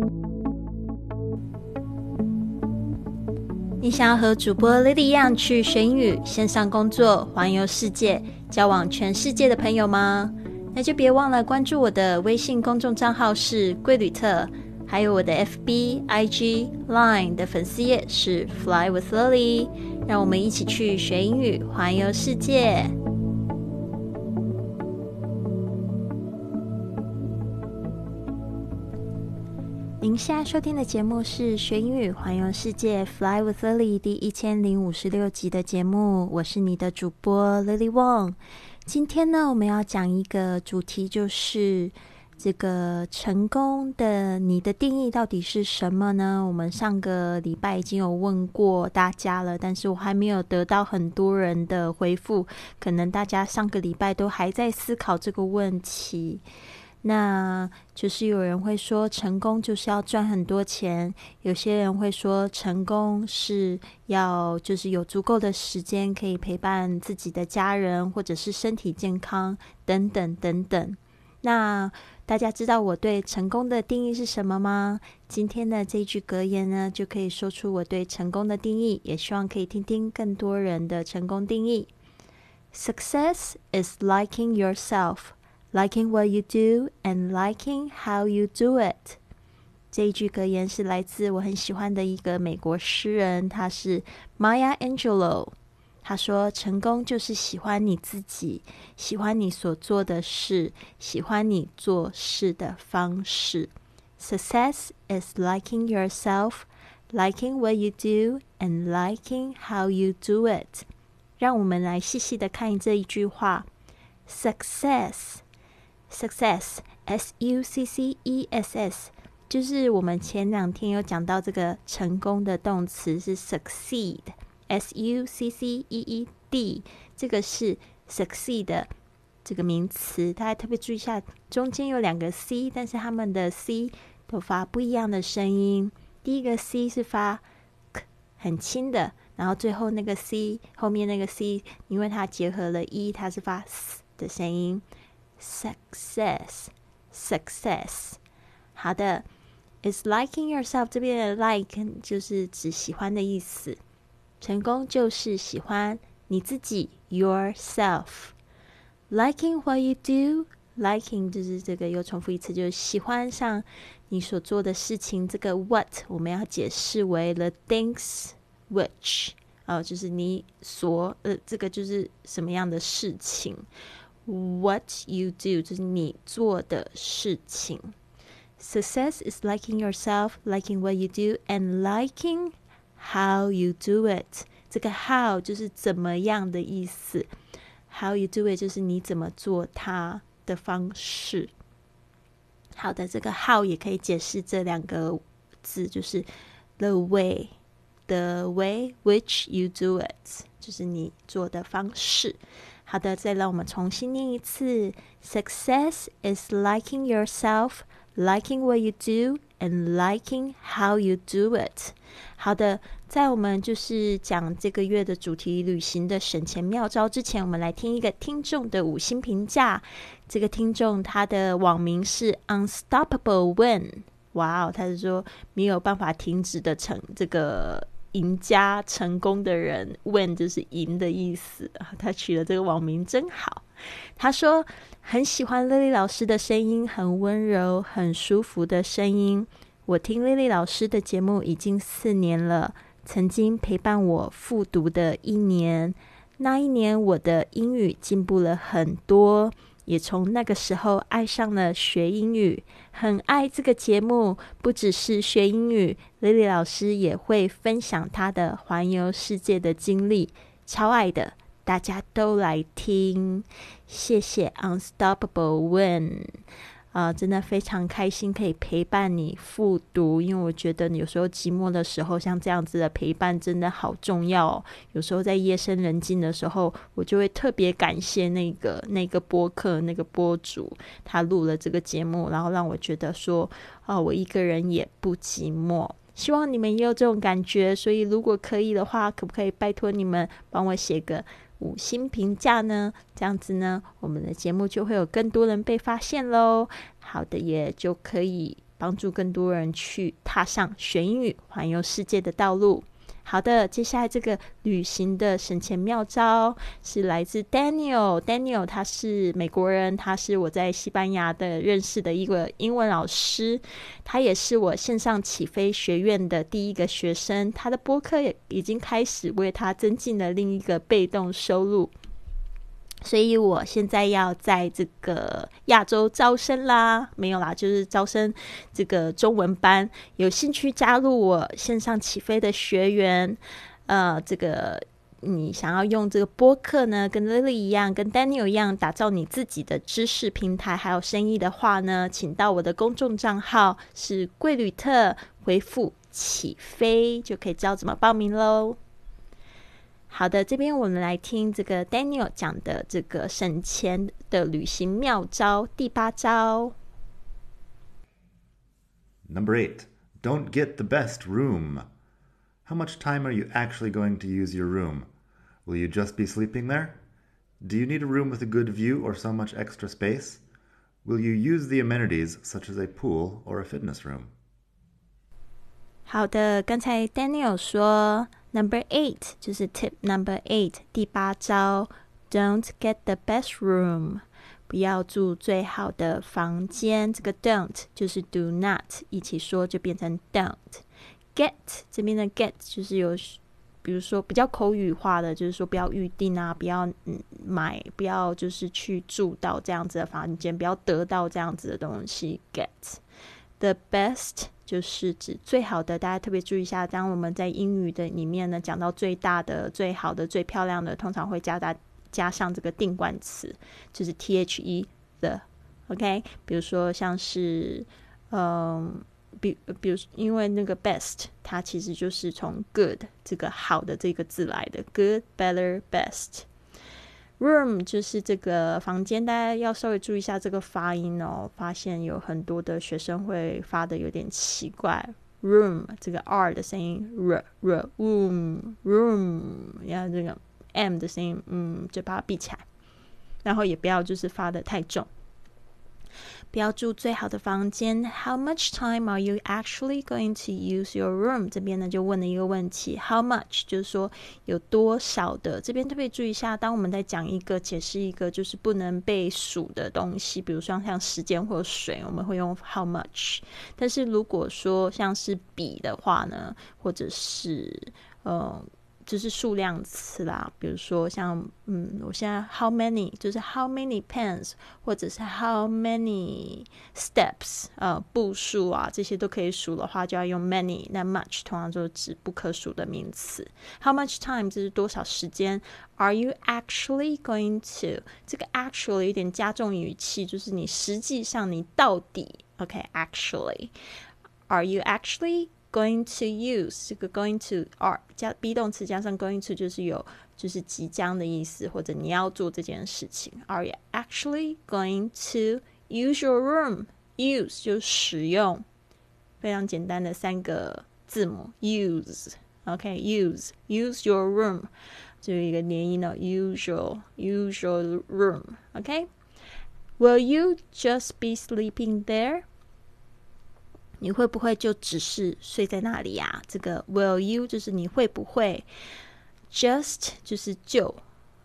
你想要和主播 Lily 一样去学英语、线上工作、环游世界、交往全世界的朋友吗？那就别忘了关注我的微信公众账号是贵旅特，还有我的 FB、IG、Line 的粉丝页是 Fly with Lily， 让我们一起去学英语、环游世界。您现在收听的节目是学英语环游世界 Fly with Lily 第1056集的节目，我是你的主播 Lily Wong。 今天呢，我们要讲一个主题，就是这个成功的你的定义到底是什么呢？我们上个礼拜已经有问过大家了，但是我还没有得到很多人的回复，可能大家上个礼拜都还在思考这个问题。那就是有人会说成功就是要赚很多钱，有些人会说成功是要就是有足够的时间可以陪伴自己的家人，或者是身体健康等等等等。那大家知道我对成功的定义是什么吗？今天的这句格言呢，就可以说出我对成功的定义，也希望可以听听更多人的成功定义。 Success is liking yourself,Liking what you do and liking how you do it。 这一句格言是来自我很喜欢的一个美国诗人，他是 Maya Angelou。 他说成功就是喜欢你自己，喜欢你所做的事，喜欢你做事的方式。 Success is liking yourself, liking what you do and liking how you do it。 让我们来细细的看这一句话。 Success， S-U-C-C-E-S-S， 就是我们前两天有讲到这个成功的动词是 succeed， S-U-C-C-E-E-D， 这个是 succeed 的这个名词，大家特别注意一下，中间有两个 C， 但是他们的 C 都发不一样的声音。第一个 C 是发 K， 很轻的，然后最后那个 C 后面那个 C 因为它结合了 E， 它是发 S 的声音。Success， 好的， is liking yourself， 这边的 like 就是指喜欢的意思，成功就是喜欢你自己 yourself。 Liking what you do， liking 就是这个又重复一次，就是喜欢上你所做的事情。这个 what 我们要解释为 the things which， 就是你所这个就是什么样的事情。What you do 就是你做的事情。 Success is liking yourself, liking what you do and liking how you do it。 这个 how 就是怎么样的意思， how you do it 就是你怎么做它的方式。好的，这个 how 也可以解释这两个字，就是 the way which you do it， 就是你做的方式。好的，再让我们重新念一次。 Success is liking yourself, liking what you do and liking how you do it。 好的，在我们就是讲这个月的主题旅行的省钱妙招之前，我们来听一个听众的5星评价。这个听众他的网名是 Unstoppable Win， 哇哦，他是说没有办法停止的这个赢家，成功的人， win 就是赢的意思，他取了这个网名真好。他说很喜欢 Lily 老师的声音，很温柔很舒服的声音，我听 Lily 老师的节目已经4年了，曾经陪伴我复读的1年，那一年我的英语进步了很多，也从那个时候爱上了学英语，很爱这个节目，不只是学英语， Lily 老师也会分享她的环游世界的经历，超爱的，大家都来听。谢谢 Unstoppable Win，真的非常开心可以陪伴你复读，因为我觉得有时候寂寞的时候，像这样子的陪伴真的好重要哦。有时候在夜深人静的时候，我就会特别感谢那个播客那个播主，他录了这个节目，然后让我觉得说我一个人也不寂寞。希望你们也有这种感觉，所以如果可以的话，可不可以拜托你们帮我写个5星评价呢？这样子呢，我们的节目就会有更多人被发现咯。好的，也就可以帮助更多人去踏上学英语环游世界的道路。好的，接下来这个旅行的省钱妙招是来自 Daniel 他是美国人，他是我在西班牙的认识的一个英文老师，他也是我线上起飞学院的第一个学生，他的播客也已经开始为他增进了另一个被动收入，所以我现在要在这个亚洲招生啦，没有啦，就是招生这个中文班，有兴趣加入我线上起飞的学员，这个你想要用这个播客呢，跟 Lily 一样，跟 Daniel 一样，打造你自己的知识平台，还有生意的话呢，请到我的公众账号是贵旅特，回复起飞就可以知道怎么报名咯。好的，这边我们来听这个 Daniel 讲的这个省钱的旅行妙招第8招。 Number 8, don't get the best room. How much time are you actually going to use your room? Will you just be sleeping there? Do you need a room with a good view or so much extra space? Will you use the amenities such as a pool or a fitness room? 好的，刚才 Daniel 说 Number 8 就是 Tip Number 8第8招 Don't get the best room， 不要住最好的房间，这个 don't 就是 do not 一起说就变成 don't。 Get 这边的 get 就是有比如说比较口语化的，就是说不要预定啊，不要买，不要就是去住到这样子的房间，不要得到这样子的东西。 Get the best 就是指最好的，大家特别注意一下，当我们在英语的里面呢讲到最大的、最好的、最漂亮的，通常会加上这个定冠词，就是 the the OK。 比如说像是比如因为那个 best 它其实就是从 good 这个好的这个字来的， good better best。 room 就是这个房间，大家要稍微注意一下这个发音哦，发现有很多的学生会发的有点奇怪， room 这个 r 的声音 room， 然后这个 m 的声音就把它闭起来，然后也不要就是发的太重。不要住最好的房间。 How much time are you actually going to use your room？ 这边呢就问了一个问题， How much 就是说有多少的，这边特别注意一下，当我们在讲一个解释一个就是不能被数的东西，比如说像时间或水，我们会用 how much， 但是如果说像是笔的话呢，或者是就是数量词啦，比如说像我现在 how many 就是 how many pens， 或者是 how many steps 步数啊，这些都可以数的话就要用 many， 那 much 通常就是指不可数的名词。 How much time 这是多少时间。 Are you actually going to， 这个 actually 有点加重语气，就是你实际上你到底 OK actually Are you actually going to use， 这个 going to are 加 be 动词加上 going to 就是即将的意思，或者你要做这件事情。 Are you actually going to use your room？ Use 就是使用，非常简单的3个字母 use OK use your room 就有一个连音了 use your room OK。 Will you just be sleeping there？你会不会就只是睡在那里啊？这个 will you 就是你会不会， just 就是就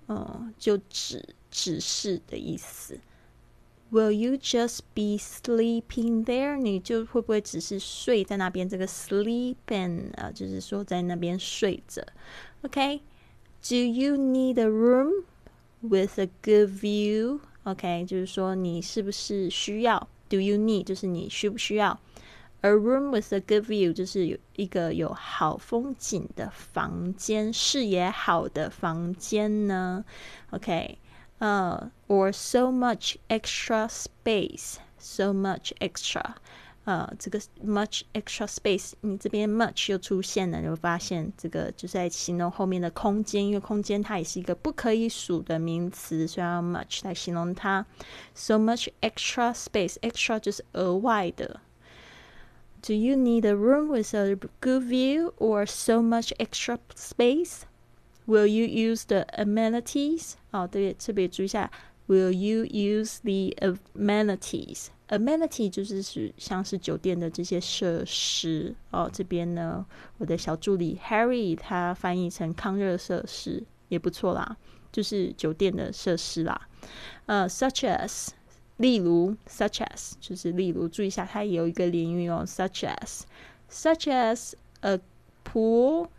只是的意思。 Will you just be sleeping there？ 你就会不会只是睡在那边，这个 sleeping 就是说在那边睡着 OK。 Do you need a room with a good view？ OK 就是说你是不是需要， Do you need 就是你需不需要，A room with a good view 就是有一个有好风景的房间，视野好的房间呢 OK or so much extra space， so much extra这个 much extra space 你这边 much 又出现了，你会发现这个就是在形容后面的空间，因为空间它也是一个不可以数的名词，所以要 much 来形容它。 So much extra space， extra 就是额外的。Do you need a room with a good view or so much extra space? Will you use the amenities? 对，特别注意一下 Will you use the amenities? amenity 就是像是酒店的这些设施哦。这边呢，我的小助理 Harry 他翻译成康热设施也不错啦，就是酒店的设施啦。such as 例如 such as 就是例如，注意一下它也有一个连语哦 such as a pool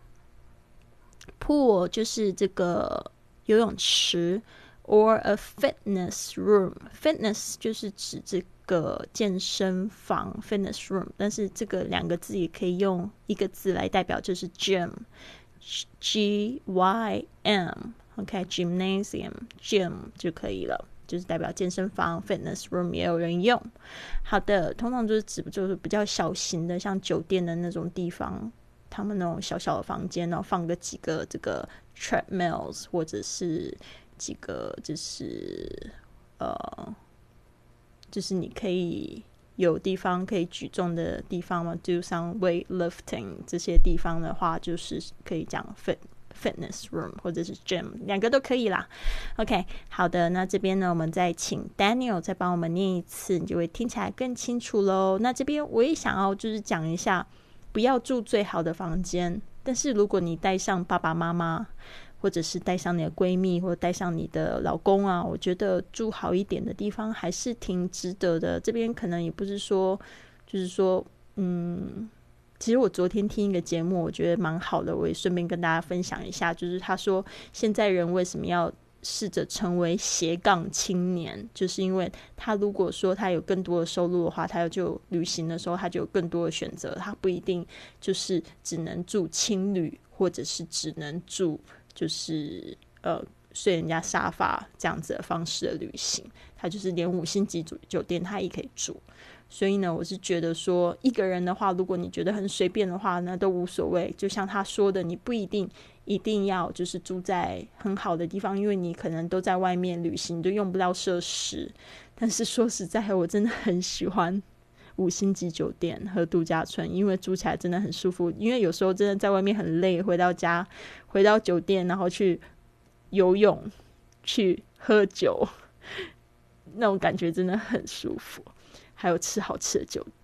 就是这个游泳池 or a fitness room fitness 就是指这个健身房 fitness room， 但是这个两个字也可以用一个字来代表，就是 gym G-Y-M OK gymnasium gym 就可以了，就是代表健身房 fitness room 也有人用。好的，通常就是指就是比较小型的，像酒店的那种地方，他们那种小小的房间，然后放个几个这个 treadmills 或者是几个就是你可以有地方可以举重的地方嘛 ，do some weightlifting 这些地方的话，就是可以讲 fitness room 或者是 gym， 两个都可以啦。OK， 好的，那这边呢，我们再请 Daniel 再帮我们念一次，你就会听起来更清楚咯。那这边我也想要就是讲一下，不要住最好的房间，但是如果你带上爸爸妈妈，或者是带上你的闺蜜，或者带上你的老公啊，我觉得住好一点的地方还是挺值得的。这边可能也不是说，就是说，其实我昨天听一个节目，我觉得蛮好的，我也顺便跟大家分享一下，就是他说现在人为什么要试着成为斜杠青年，就是因为他如果说他有更多的收入的话，他就旅行的时候他就有更多的选择，他不一定就是只能住青旅，或者是只能住就是睡人家沙发这样子的方式的旅行，他就是连5星级酒店他也可以住。所以呢，我是觉得说一个人的话，如果你觉得很随便的话，那都无所谓。就像他说的，你不一定要就是住在很好的地方，因为你可能都在外面旅行，你就用不到设施。但是说实在，我真的很喜欢5星级酒店和度假村，因为住起来真的很舒服。因为有时候真的在外面很累，回到酒店，然后去游泳、去喝酒，那种感觉真的很舒服。还有吃好吃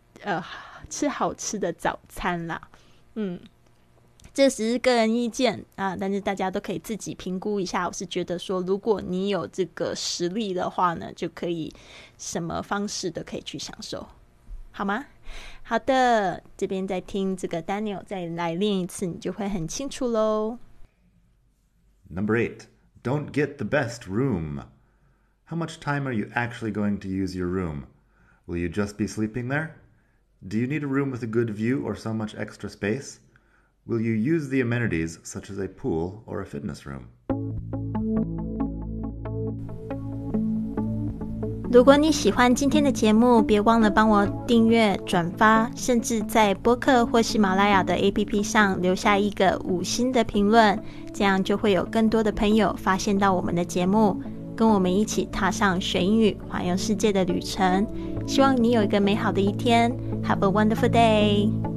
的早餐啦，这只是个人意见啊，但是大家都可以自己评估一下。我是觉得说，如果你有这个实力的话呢，就可以什么方式都可以去享受，好吗？好的，这边再听这个 Daniel 再来练一次，你就会很清楚咯。 Number 8, don't get the best room. How much time are you actually going to use your room? Will you just be sleeping there? Do you need a room with a good view or so much extra space? Will you use the amenities such as a pool or a fitness room? 如果你喜欢今天的节目，别忘了帮我订阅、转发，甚至在播客或喜马拉雅的 APP 上留下一个5星的评论，这样就会有更多的朋友发现到我们的节目，跟我们一起踏上学英语环游世界的旅程。希望你有一个美好的一天。Have a wonderful day!